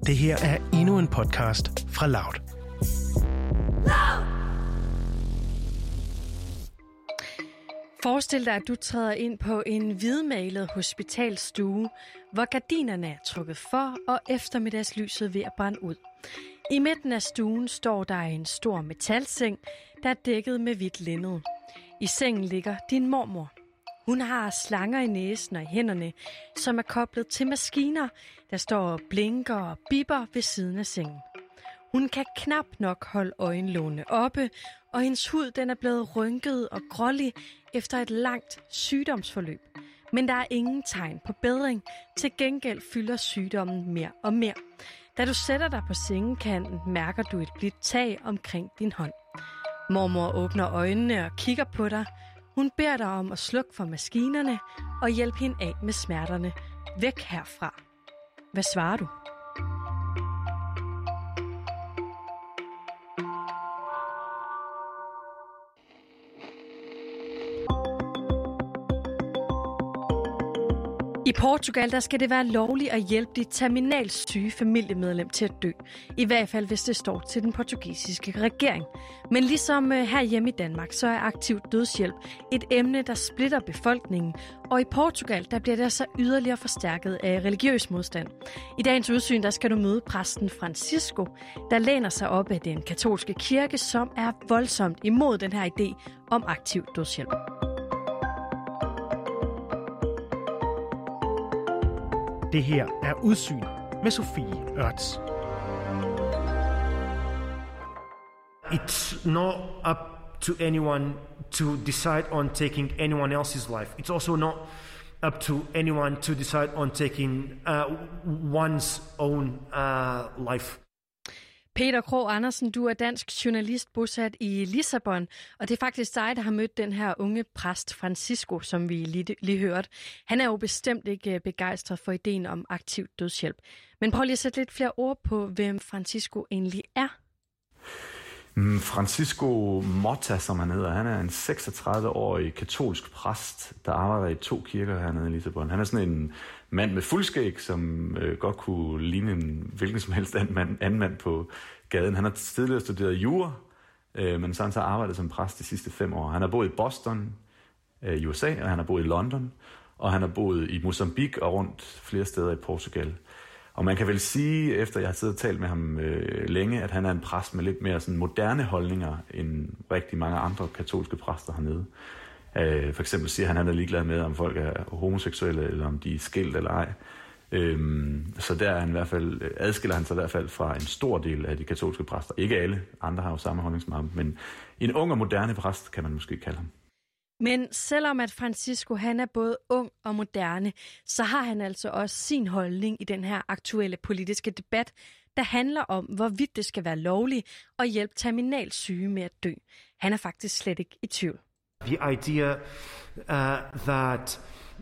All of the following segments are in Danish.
Det her er endnu en podcast fra Loud. Forestil dig, at du træder ind på en hvidmalet hospitalsstue, hvor gardinerne er trukket for og eftermiddagslyset ved at brænde ud. I midten af stuen står der en stor metalseng, der er dækket med hvidt linned. I sengen ligger din mormor. Hun har slanger i næsen og i hænderne, som er koblet til maskiner, der står og blinker og bipper ved siden af sengen. Hun kan knap nok holde øjenlågene oppe, og hendes hud den er blevet rynket og grålig efter et langt sygdomsforløb. Men der er ingen tegn på bedring. Til gengæld fylder sygdommen mere og mere. Da du sætter dig på sengekanten, mærker du et blidt tag omkring din hånd. Mormor åbner øjnene og kigger på dig. Hun beder dig om at slukke for maskinerne og hjælpe hende af med smerterne. Væk herfra. Hvad svarer du? I Portugal der skal det være lovligt at hjælpe dit terminalt syge familiemedlem til at dø. I hvert fald, hvis det står til den portugisiske regering. Men ligesom herhjemme i Danmark, så er aktiv dødshjælp et emne, der splitter befolkningen. Og i Portugal, der bliver det altså yderligere forstærket af religiøs modstand. I dagens udsyn, der skal du møde præsten Francisco, der læner sig op af den katolske kirke, som er voldsomt imod den her idé om aktiv dødshjælp. Det her er Udsyn med Sofie Ørts. It's not up to anyone to decide on taking anyone else's life. It's also not up to anyone to decide on taking one's own life. Peter Krog Andersen, du er dansk journalist bosat i Lissabon, og det er faktisk dig, der har mødt den her unge præst Francisco, som vi lige hørte. Han er jo bestemt ikke begejstret for ideen om aktiv dødshjælp. Men prøv lige at sætte lidt flere ord på, hvem Francisco egentlig er. Francisco Mota, som han hedder, han er en 36-årig katolsk præst, der arbejder i 2 kirker hernede i Lissabon. Han er sådan en mand med fuldskæg, som godt kunne ligne en hvilken som helst anden mand på gaden. Han har tidligere studeret jura, men så har han så arbejdet som præst de sidste 5 år. Han har boet i Boston i USA, og han har boet i London, og han har boet i Mozambique og rundt flere steder i Portugal. Og man kan vel sige, efter jeg har siddet og talt med ham længe, at han er en præst med lidt mere sådan moderne holdninger end rigtig mange andre katolske præster hernede. For eksempel siger han er ligeglad med, om folk er homoseksuelle, eller om de er skilt eller ej. Så der er han i hvert fald, adskiller han sig i hvert fald fra en stor del af de katolske præster. Ikke alle, andre har jo samme holdning som ham, men en ung og moderne præst kan man måske kalde ham. Men selvom at Francisco han er både ung og moderne, så har han altså også sin holdning i den her aktuelle politiske debat, der handler om, hvorvidt det skal være lovligt at hjælpe terminalt syge med at dø. Han er faktisk slet ikke i tvivl. The idea that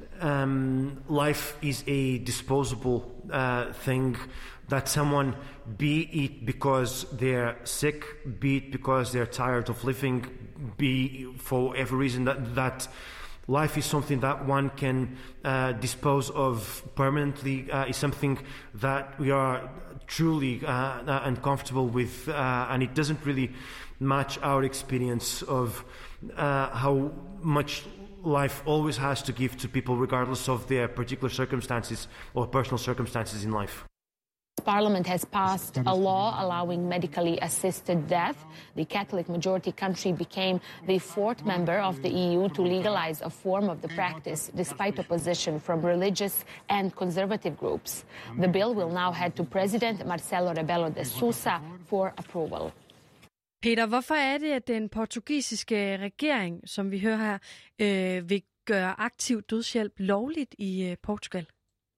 life is a disposable thing, that someone, be it because they're sick, be it because they're tired of living, be for every reason, that life is something that one can dispose of permanently, is something that we are truly uncomfortable with, and it doesn't really match our experience of how much life always has to give to people regardless of their particular circumstances or personal circumstances in life. Parliament has passed a law allowing medically assisted death. The Catholic majority country became the 4th member of the EU to legalize a form of the practice, despite opposition from religious and conservative groups. The bill will now head to President Marcelo Rebelo de Sousa for approval. Peter, hvorfor er det, at den portugisiske regering, som vi hører her, vil gøre aktiv dødshjælp lovligt i Portugal?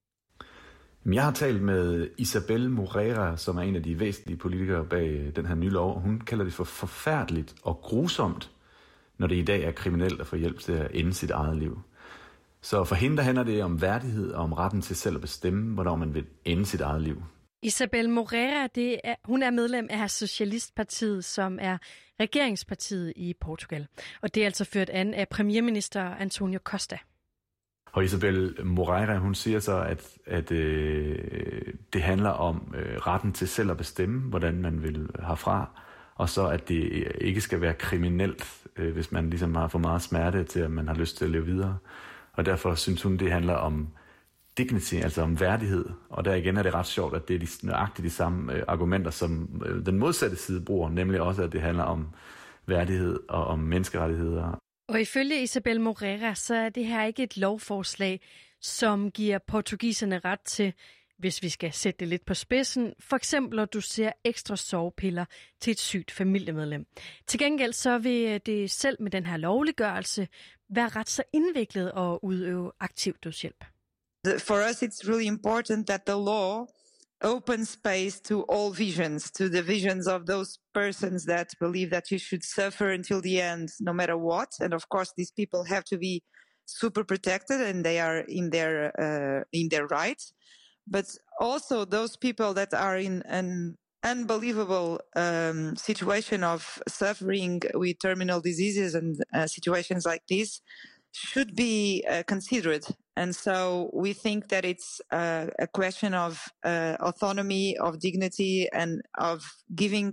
Jeg har talt med Isabel Moreira, som er en af de væsentlige politikere bag den her nye lov, og hun kalder det for forfærdeligt og grusomt, når det i dag er kriminelt at få hjælp til at ende sit eget liv. Så for hende der handler det om værdighed og om retten til selv at bestemme, hvornår man vil ende sit eget liv. Isabel Moreira, hun er medlem af Socialistpartiet, som er regeringspartiet i Portugal. Og det er altså ført an af premierminister Antonio Costa. Og Isabel Moreira, hun siger så, at det handler om retten til selv at bestemme, hvordan man vil herfra, og så at det ikke skal være kriminelt, hvis man ligesom har for meget smerte til, at man har lyst til at leve videre. Og derfor synes hun, det handler om dignity, altså om værdighed. Og der igen er det ret sjovt, at det er nøjagtigt de samme argumenter, som den modsatte side bruger, nemlig også, at det handler om værdighed og om menneskerettigheder. Og ifølge Isabel Moreira, så er det her ikke et lovforslag, som giver portugiserne ret til, hvis vi skal sætte det lidt på spidsen, for eksempel at du ser ekstra sovepiller til et sygt familiemedlem. Til gengæld så vil det selv med den her lovliggørelse være ret så indviklet at udøve aktiv dødshjælp. For us, it's really important that the law opens space to all visions, to the visions of those persons that believe that you should suffer until the end, no matter what. And of course, these people have to be super protected, and they are in their rights. But also those people that are in an unbelievable situation of suffering with terminal diseases and situations like this should be considered. And so we think that it's a question of autonomy, of dignity, and of giving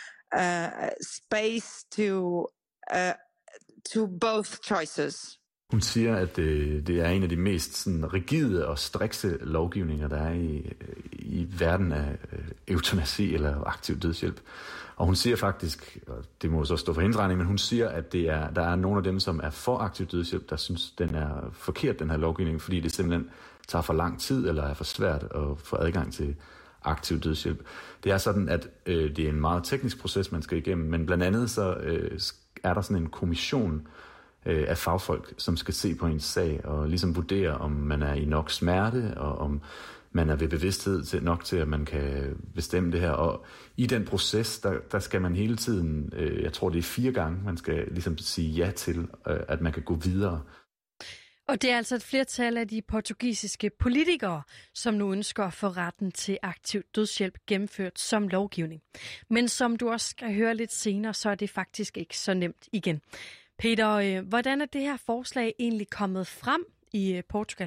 space to both choices. Hun siger, at det er en af de mest sådan, rigide og strikse lovgivninger, der er i verden af eutanasi eller aktiv dødshjælp. Og hun siger faktisk, og det må så stå for hendes regning, men hun siger, at der er nogle af dem, som er for aktiv dødshjælp, der synes, den er forkert, den her lovgivning, fordi det simpelthen tager for lang tid, eller er for svært at få adgang til aktiv dødshjælp. Det er sådan, at det er en meget teknisk proces, man skal igennem, men blandt andet så er der sådan en kommission af fagfolk, som skal se på ens sag og ligesom vurdere, om man er i nok smerte, og om man er ved bevidsthed nok til, at man kan bestemme det her. Og i den proces, der skal man hele tiden, jeg tror det er 4 gange, man skal ligesom sige ja til, at man kan gå videre. Og det er altså et flertal af de portugisiske politikere, som nu ønsker at få retten til aktiv dødshjælp gennemført som lovgivning. Men som du også skal høre lidt senere, så er det faktisk ikke så nemt igen. Peter, hvordan er det her forslag egentlig kommet frem i Portugal?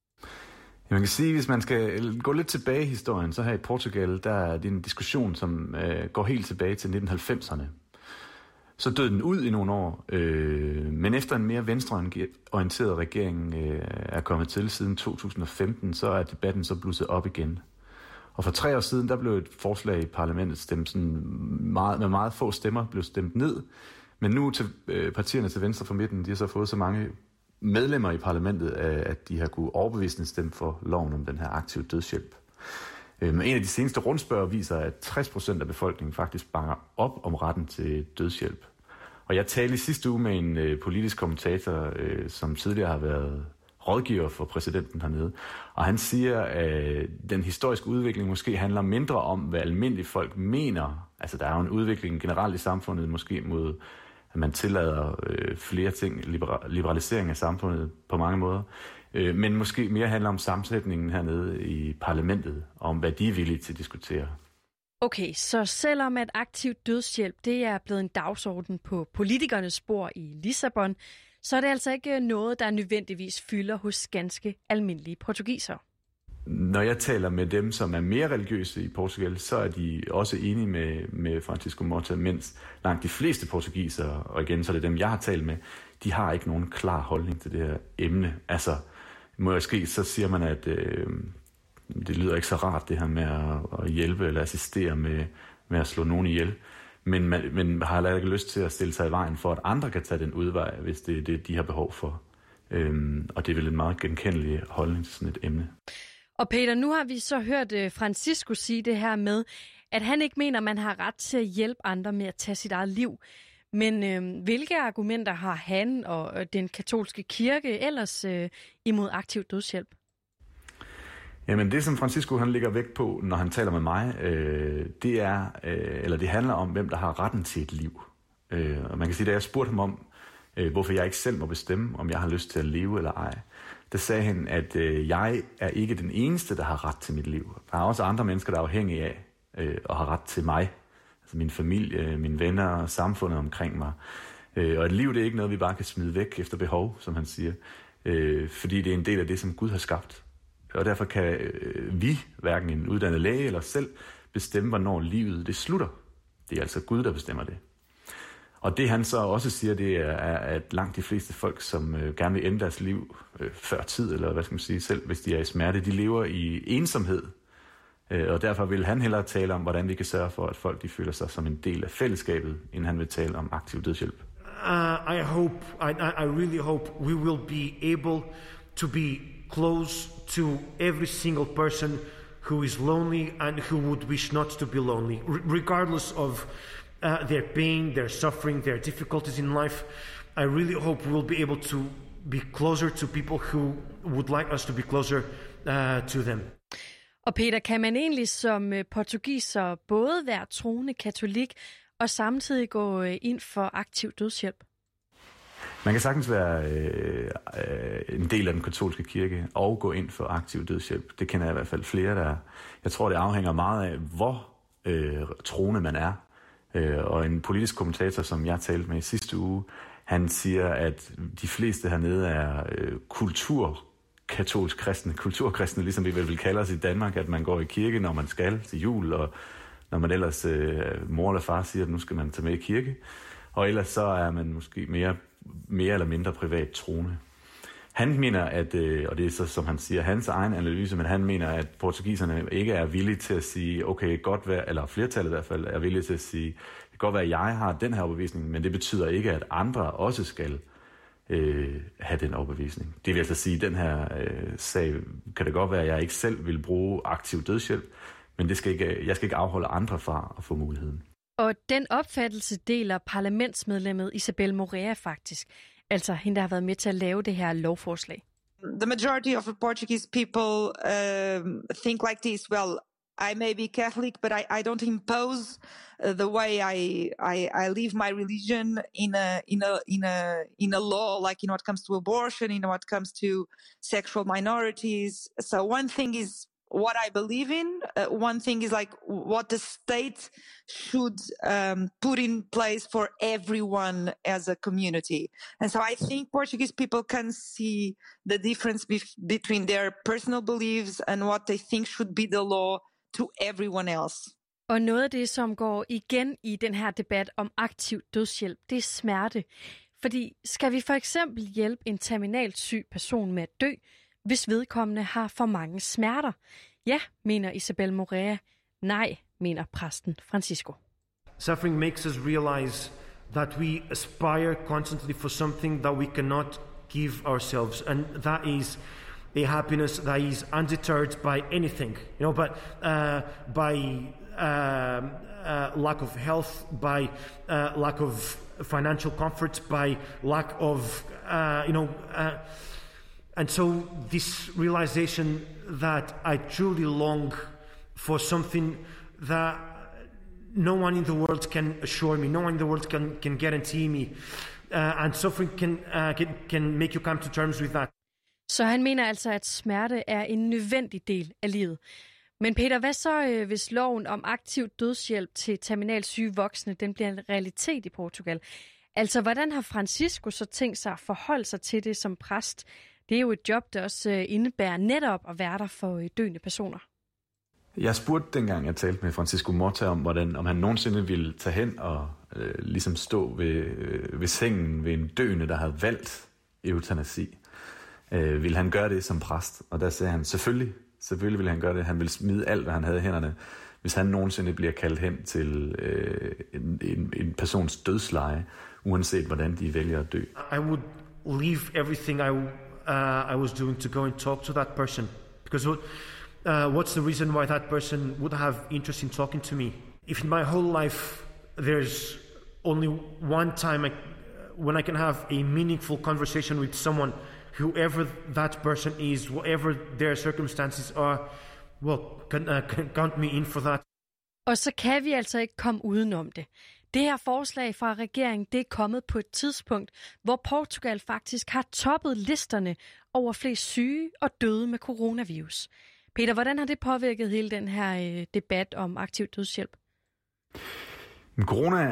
Man kan sige, hvis man skal gå lidt tilbage i historien, så her i Portugal, der er det en diskussion, som går helt tilbage til 1990'erne. Så døde den ud i nogle år, men efter en mere venstreorienteret regering er kommet til siden 2015, så er debatten så blusset op igen. Og for 3 år siden, der blev et forslag i parlamentet stemt sådan med meget få stemmer, blev stemt ned. Men nu til partierne til venstre for midten, de har så fået så mange medlemmer i parlamentet, at de har kunne overbevisende stemme for loven om den her aktive dødshjælp. En af de seneste rundspørger viser, at 60% af befolkningen faktisk bakker op om retten til dødshjælp. Og jeg talte i sidste uge med en politisk kommentator, som tidligere har været rådgiver for præsidenten hernede. Og han siger, at den historiske udvikling måske handler mindre om, hvad almindelige folk mener. Altså der er jo en udvikling generelt i samfundet, måske mod, at man tillader flere ting, liberalisering af samfundet på mange måder. Men måske mere handler om sammensætningen hernede i parlamentet, om hvad de er villige til at diskutere. Okay, så selvom at aktiv dødshjælp det er blevet en dagsorden på politikernes spor i Lissabon, så er det altså ikke noget, der nødvendigvis fylder hos ganske almindelige portugisere. Når jeg taler med dem, som er mere religiøse i Portugal, så er de også enige med Francisco Mota, mens langt de fleste portugisere, og igen så er det dem, jeg har talt med, de har ikke nogen klar holdning til det her emne. Altså, måske så siger man, at det lyder ikke så rart, det her med at hjælpe eller assistere med at slå nogen ihjel. Men har heller ikke lyst til at stille sig i vejen for, at andre kan tage den udvej, hvis det er det, de har behov for. Og det er vel en meget genkendelig holdning til sådan et emne. Og Peter, nu har vi så hørt Francisco sige det her med, at han ikke mener, man har ret til at hjælpe andre med at tage sit eget liv. Men hvilke argumenter har han og den katolske kirke ellers imod aktiv dødshjælp? Jamen det, som Francisco han lægger vægt på, når han taler med mig, det handler om, hvem der har retten til et liv. Og man kan sige, da jeg spurgte ham om, hvorfor jeg ikke selv må bestemme, om jeg har lyst til at leve eller ej, der sagde han, at jeg er ikke den eneste, der har ret til mit liv. Der er også andre mennesker, der er afhængige af og har ret til mig. Altså min familie, mine venner og samfundet omkring mig. Og et liv, det er ikke noget, vi bare kan smide væk efter behov, som han siger. fordi det er en del af det, som Gud har skabt. Og derfor kan vi, hverken en uddannet læge eller selv, bestemme, hvornår livet det slutter. Det er altså Gud, der bestemmer det. Og det han så også siger, det er, at langt de fleste folk, som gerne vil ende deres liv før tid, eller hvad skal man sige, selv hvis de er i smerte, de lever i ensomhed. Og derfor vil han hellere tale om, hvordan vi kan sørge for, at folk de føler sig som en del af fællesskabet, end han vil tale om aktiv dødshjælp. I really hope we will be able to be close to every single person who is lonely and who would wish not to be lonely, regardless of their pain, their suffering, their difficulties in life. I really hope we'll be able to be closer to people who would like us to be closer to them. Og Peter, kan man egentlig som portugiser både være troende katolik og samtidig gå ind for aktiv dødshjælp? Man kan sagtens være en del af den katolske kirke og gå ind for aktiv dødshjælp. Det kender jeg i hvert fald flere, der er. Jeg tror, det afhænger meget af, hvor troende man er. Og en politisk kommentator, som jeg talte med i sidste uge, han siger, at de fleste hernede er kulturkatolsk kristne, kulturkristne, ligesom vi vil kalde os i Danmark, at man går i kirke, når man skal til jul, og når man ellers mor eller far siger, at nu skal man tage med i kirke. Og ellers så er man måske mere eller mindre privat troende. Han mener, at, og det er så, som han siger, hans egen analyse, men han mener, at portugiserne ikke er villige til at sige, okay, godt være, eller flertallet i hvert fald, er villige til at sige, det kan godt være, at jeg har den her overbevisning, men det betyder ikke, at andre også skal have den overbevisning. Det vil altså sige, at den her sag, kan det godt være, at jeg ikke selv vil bruge aktiv dødshjælp, men jeg skal ikke afholde andre fra at få muligheden. Og den opfattelse deler parlamentsmedlemmet Isabel Morea faktisk. Altså hende, der har været med til at lave det her lovforslag. The majority of the Portuguese people think like this. Well, I may be Catholic, but I don't impose the way I live my religion in a law, like in what comes to abortion, in what comes to sexual minorities. So one thing is what I believe in. One thing is like what the state should put in place for everyone as a community. And so I think Portuguese people can see the difference between their personal beliefs and what they think should be the law to everyone else. Og noget af det, som går igen i den her debat om aktiv dødshjælp, det er smerte. Fordi skal vi for eksempel hjælpe en terminalt syg person med at dø, hvis vedkommende har for mange smerter? Ja, mener Isabel Morea. Nej, mener præsten Francisco. Suffering makes us realize that we aspire constantly for something that we cannot give ourselves, and that is a happiness that is undeterred by anything, but by lack of health, by lack of financial comfort, by lack of and so this realization that I truly long for something that no one in the world can assure me, no one in the world can guarantee me, and suffering can make you come to terms with that. Så han mener altså, at smerte er en nødvendig del af livet. Men Peter, hvad så, hvis loven om aktiv dødshjælp til terminalt syge voksne, den bliver en realitet i Portugal? Altså, hvordan har Francisco så tænkt sig at forholde sig til det som præst? Det er jo et job, der også indebærer netop at være der for døende personer. Jeg spurgte dengang, jeg talte med Francisco Morta om han nogensinde ville tage hen og ligesom stå ved sengen ved en døende, der havde valgt eutanasi. Ville han gøre det som præst? Og der sagde han, selvfølgelig ville han gøre det. Han ville smide alt, hvad han havde i hænderne, hvis han nogensinde bliver kaldt hen til en persons dødsleje, uanset hvordan de vælger at dø. I would leave everything I was doing to go and talk to that person, because what's the reason why that person would have interest in talking to me? If in my whole life there's only one time when I can have a meaningful conversation with someone, whoever that person is, whatever their circumstances are, well, count me in for that. Og så kan vi altså ikke komme udenom det. Det her forslag fra regeringen, det er kommet på et tidspunkt, hvor Portugal faktisk har toppet listerne over flest syge og døde med coronavirus. Peter, hvordan har det påvirket hele den her debat om aktiv dødshjælp? Corona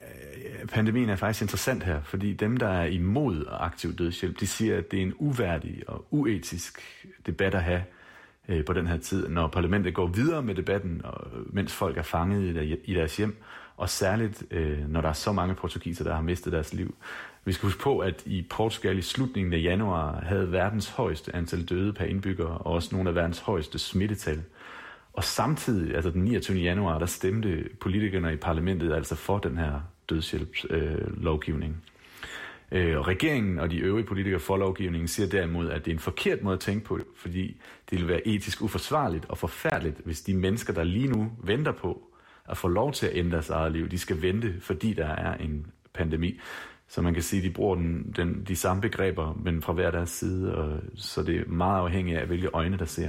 pandemien er faktisk interessant her, fordi dem, der er imod aktiv dødshjælp, de siger, at det er en uværdig og uetisk debat at have på den her tid, når parlamentet går videre med debatten, mens folk er fanget i deres hjem, og særligt når der er så mange portugiser, der har mistet deres liv. Vi skal huske på, at i Portugal i slutningen af januar havde verdens højeste antal døde per indbygger, og også nogle af verdens højeste smittetal. Og samtidig, altså den 29. januar, der stemte politikerne i parlamentet altså for den her dødshjælpslovgivning. Og regeringen og de øvrige politikere for lovgivningen siger derimod, at det er en forkert måde at tænke på, fordi det vil være etisk uforsvarligt og forfærdeligt, hvis de mennesker, der lige nu venter på at få lov til at ændre deres eget liv, de skal vente, fordi der er en pandemi. Så man kan sige, at de bruger de samme begreber, men fra hver deres side, og så det er meget afhængigt af, hvilke øjne der ser.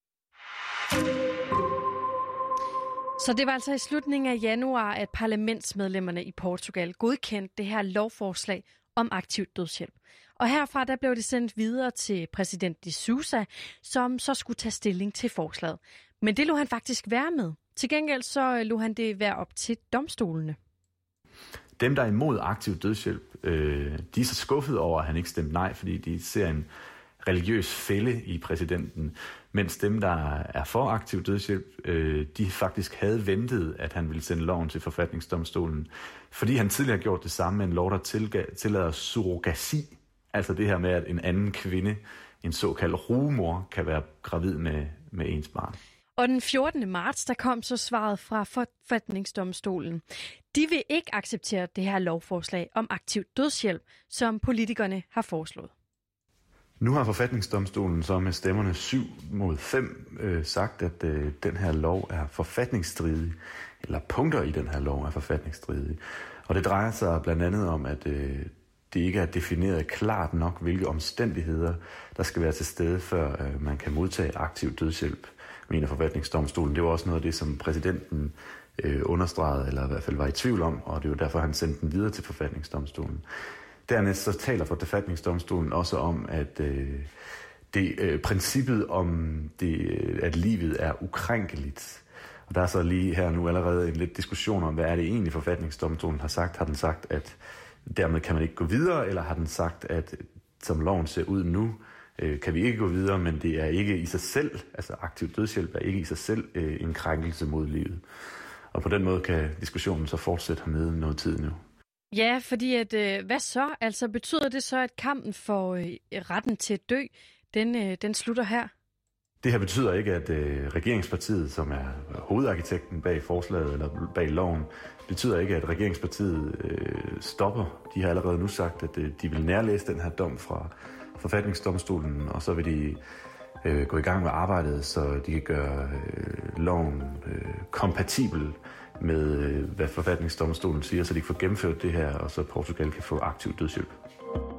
Så det var altså i slutningen af januar, at parlamentsmedlemmerne i Portugal godkendte det her lovforslag om aktiv dødshjælp. Og herfra der blev det sendt videre til præsident de Sousa, som så skulle tage stilling til forslaget. Men det lå han faktisk være med. Til gengæld så lå han det være op til domstolene. Dem, der er imod aktiv dødshjælp, de er så skuffede over, at han ikke stemte nej, fordi de ser en religiøs fælde i præsidenten, mens dem, der er for aktiv dødshjælp, de faktisk havde ventet, at han ville sende loven til forfatningsdomstolen, fordi han tidligere har gjort det samme med en lov, der tillader surrogasi, altså det her med, at en anden kvinde, en såkaldt rugemor, kan være gravid med ens barn. Og den 14. marts, der kom så svaret fra forfatningsdomstolen. De vil ikke acceptere det her lovforslag om aktiv dødshjælp, som politikerne har foreslået. Nu har forfatningsdomstolen så med stemmerne 7-5 sagt, at den her lov er forfatningsstridig, eller punkter i den her lov er forfatningsstridige. Og det drejer sig blandt andet om, at det ikke er defineret klart nok, hvilke omstændigheder der skal være til stede, før man kan modtage aktiv dødshjælp, mener forfatningsdomstolen. Det var også noget af det, som præsidenten understregede, eller i hvert fald var i tvivl om, og det var derfor, han sendte den videre til forfatningsdomstolen. Dernæst så taler forfatningsdomstolen også om, at princippet om, at livet er ukrænkeligt. Og der er så lige her nu allerede en lidt diskussion om, hvad er det egentlig forfatningsdomstolen har sagt. Har den sagt, at dermed kan man ikke gå videre, eller har den sagt, at som loven ser ud nu, kan vi ikke gå videre, men det er ikke i sig selv, altså aktiv dødshjælp er ikke i sig selv en krænkelse mod livet. Og på den måde kan diskussionen så fortsætte hernede noget tid nu. Ja, fordi at, hvad så? Altså betyder det så, at kampen for retten til at dø, den slutter her? Det her betyder ikke, at regeringspartiet, som er hovedarkitekten bag forslaget eller bag loven, betyder ikke, at regeringspartiet stopper. De har allerede nu sagt, at de vil nærlæse den her dom fra forfatningsdomstolen, og så vil de gå i gang med arbejdet, så de kan gøre loven kompatibel med, hvad forfatningsdomstolen siger, så de kan få gennemført det her, og så Portugal kan få aktiv dødshjælp.